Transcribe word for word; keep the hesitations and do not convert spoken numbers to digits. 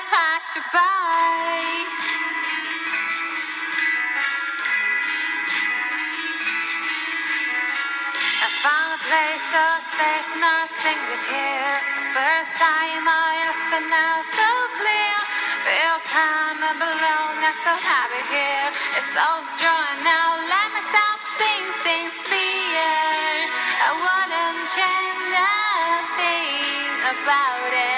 pass you by. I found a place so safe, nothing is here. The first time I feel now so clear. Feel calm and alone, I'm so happy here. It's so strong now, let myself be sincere. I wouldn't change a thing about it.